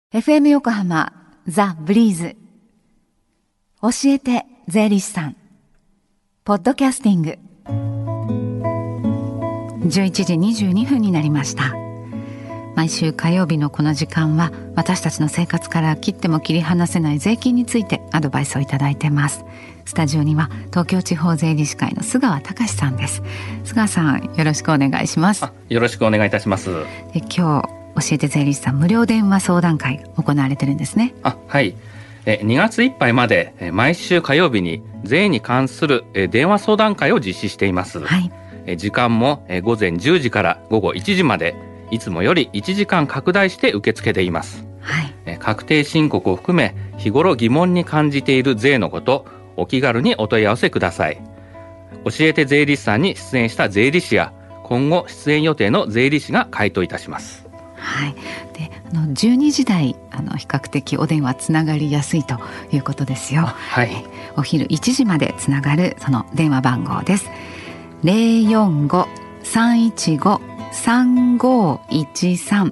FM 横浜ザ・ブリーズ教えて税理士さんポッドキャスティング11時22分になりました。毎週火曜日のこの時間は私たちの生活から切っても切り離せない税金についてアドバイスをいただいています。スタジオには東京地方税理士会の須川隆さんです。須川さん、よろしくお願いします。 よろしくお願いいたします。 で、今日教えて税理士さん無料電話相談会行われてるんですね。 はい。2月いっぱいまで毎週火曜日に税に関する電話相談会を実施しています。 はい。 時間も午前10時から午後1時まで、いつもより1時間拡大して受け付けています。 はい。 確定申告を含め日頃疑問に感じている税のこと、お気軽にお問い合わせください。教えて税理士さんに出演した税理士や今後出演予定の税理士が回答いたします。 はい。で、12時台比較的お電話つながりやすいということですよ。 はい。 お昼1時までつながるその電話番号です。045-315-3513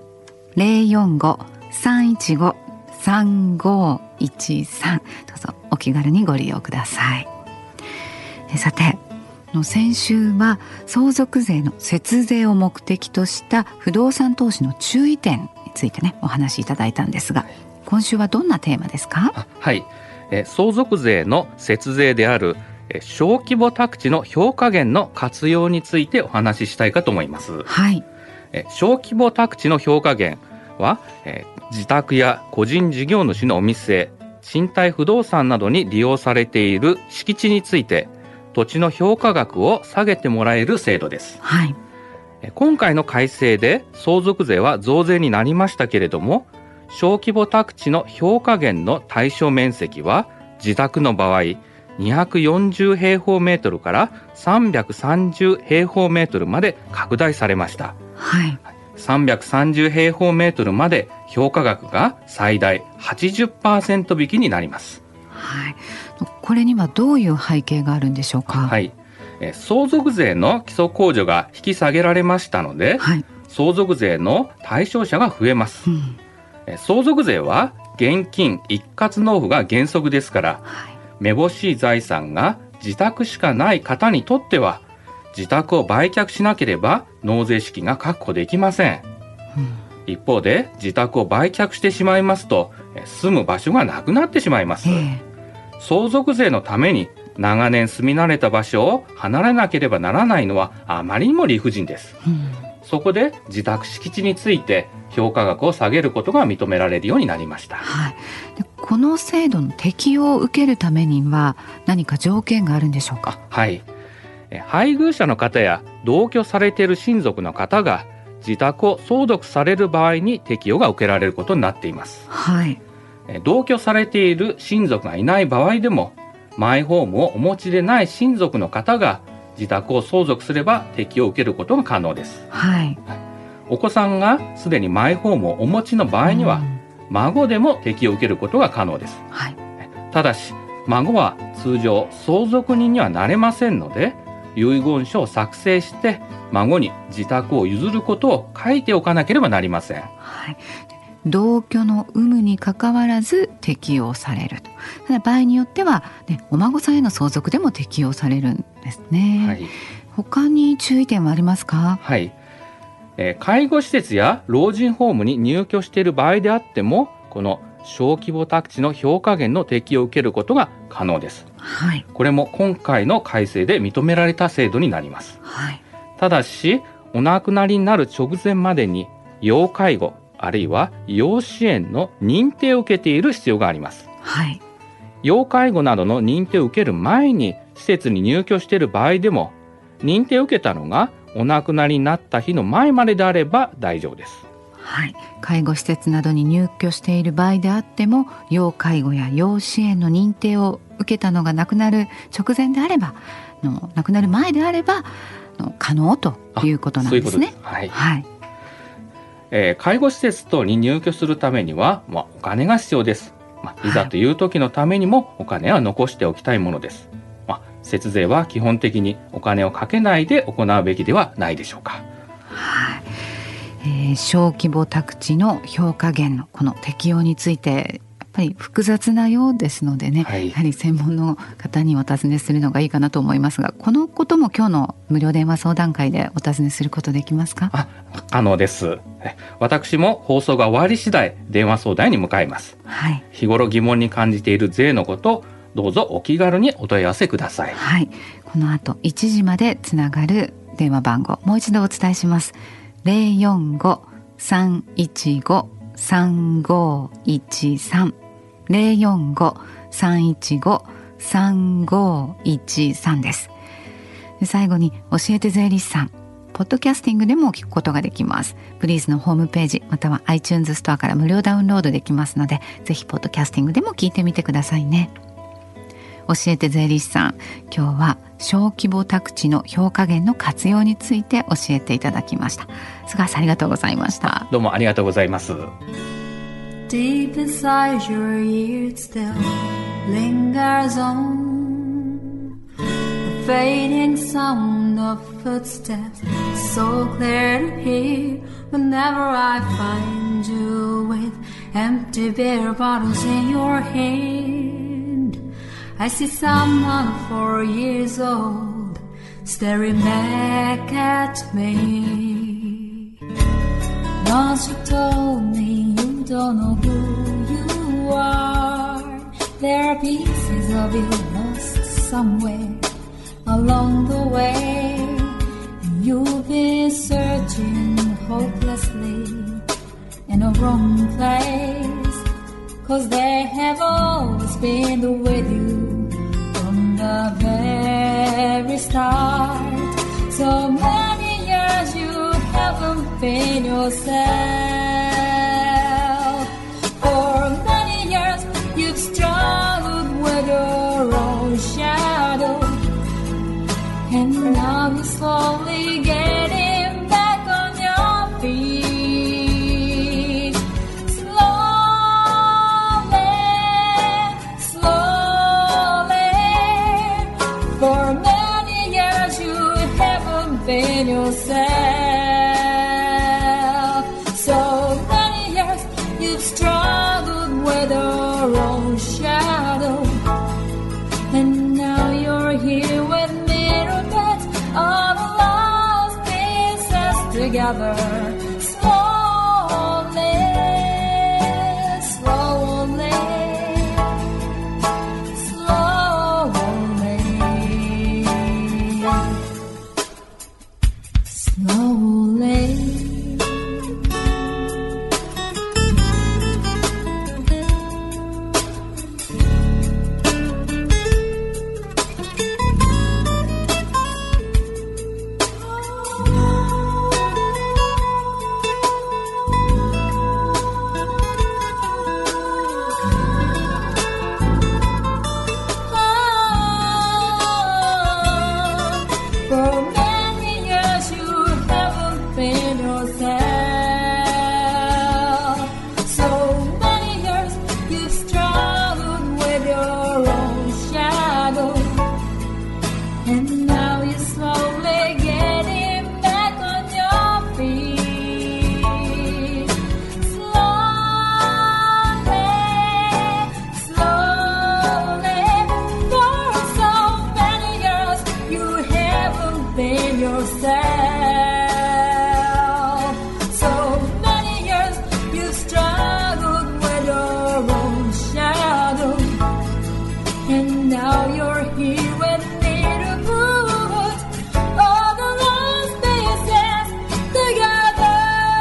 045-315-3513 どうぞお気軽にご利用ください。さて、先週は相続税の節税を目的とした不動産投資の注意点についてね、お話しいただいたんですが、今週はどんなテーマですか？ はい。相続税の節税である小規模宅地の評価減の活用についてお話ししたいかと思います。 はい。 小規模宅地の評価減は、自宅や個人事業主のお店、賃貸不動産などに利用されている敷地について土地の評価額を下げてもらえる制度です。 はい。 今回の改正で相続税は増税になりましたけれども、小規模宅地の評価減の対象面積は自宅の場合240平方メートルから330平方メートルまで拡大されました。 はい。 330平方メートルまで評価額が最大 80% 引きになります。 はい。これにはどういう背景があるんでしょうか？ はい。相続税の基礎控除が引き下げられましたので、 はい。 相続税の対象者が増えます。相続税は現金一括納付が原則ですから、 はい。 めぼしい財産が自宅しかない方にとっては、自宅を売却しなければ納税資金が確保できません。一方で自宅を売却してしまいますと、住む場所がなくなってしまいます。相続税のために長年住み慣れた場所を離れなければならないのはあまりにも理不尽です。そこで自宅敷地について評価額を下げることが認められるようになりました。 はい。で、この制度の適用を受けるためには何か条件があるんでしょうか？ はい。配偶者の方や同居されている親族の方が自宅を相続される場合に適用が受けられることになっています。 はい。 同居されている親族がいない場合でも、マイホームをお持ちでない親族の方が自宅を相続すれば適用を受けることが可能です。 はい。 お子さんがすでにマイホームをお持ちの場合には、孫でも適用を受けることが可能です。 はい。 ただし、孫は通常相続人にはなれませんので、遺言書を作成して孫に自宅を譲ることを書いておかなければなりません。 はい。同居の有無にかかわらず適用されると。ただ場合によっては、お孫さんへの相続でも適用されるんですね。 はい。 他に注意点はありますか？ はい。介護施設や老人ホームに入居している場合であっても、この小規模宅地の評価減の適用を受けることが可能です。 はい。 これも今回の改正で認められた制度になります。 はい。 ただし、お亡くなりになる直前までに要介護あるいは要支援の認定を受けている必要があります。 はい。 要介護などの認定を受ける前に施設に入居している場合でも、認定を受けたのがお亡くなりになった日の前までであれば大丈夫です。 はい。介護施設などに入居している場合であっても、要介護や要支援の認定を受けたのが亡くなる直前であれば、亡くなる前であれば可能ということなんですね。 そういうことです。はい。 はい。 介護施設等に入居するためには、お金が必要です。いざという時のためにもお金は残しておきたいものです。節税は基本的にお金をかけないで行うべきではないでしょうか。 はい。 小規模宅地の評価減のこの適用についてやっぱり複雑なようですのでね、 はい、 やはり専門の方にお尋ねするのがいいかなと思いますが、このことも今日の無料電話相談会でお尋ねすることできますか？ 可能です。私も放送が終わり次第電話相談に向かいます。 はい、 日頃疑問に感じている税のこと、どうぞお気軽にお問い合わせください。 はい、この後1時までつながる電話番号もう一度お伝えします。 045-315-3513 045-315-3513 です。で、最後に教えて税理士さん、ポッドキャスティングでも聞くことができます。ブリーズのホームページまたは iTunes ストアから無料ダウンロードできますので、ぜひポッドキャスティングでも聞いてみてくださいね。教えて税理士さん、今日は小規模宅地の評価減の活用について教えていただきました。菅原さん、ありがとうございました。 どうもありがとうございます。 Deep inside your ears still lingers on the fading sound of footsteps, so clear to hear whenever I find you with empty beer bottles in your hand. I see someone 4 years old staring back at me. Once you told me you don't know who you are. There are pieces of you lost somewhere along the way. You've been searching hopelessly in a wrong place, 'cause they have always been with you from the very start. So many years you haven't been yourself. For many years you've struggled with your own shadow, and now you're slowly getting back on your feet. Slowly, slowly. For many years you haven't been yourself. So many years you've struggled with your own shadow, and now you're here with me to put all the lost pieces together. Slowly, slowly, slowly, slowly. For many years you haven't been yourself. So many years you've struggled with your own shadow, and now you're slowly getting back on your feet. Slowly, slowly. For so many years you haven't been yourself. So many years you've struggled with your own shadow, and now you're here with me to put all the lost pieces together.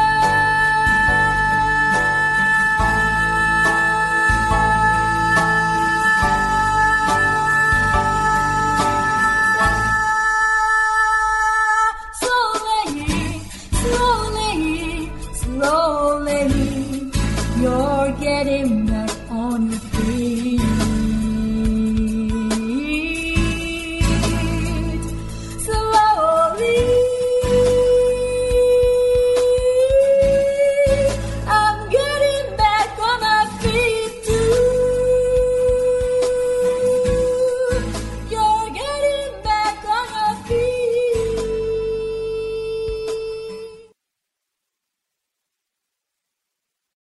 Slowly, slowly, slowly, you're getting better.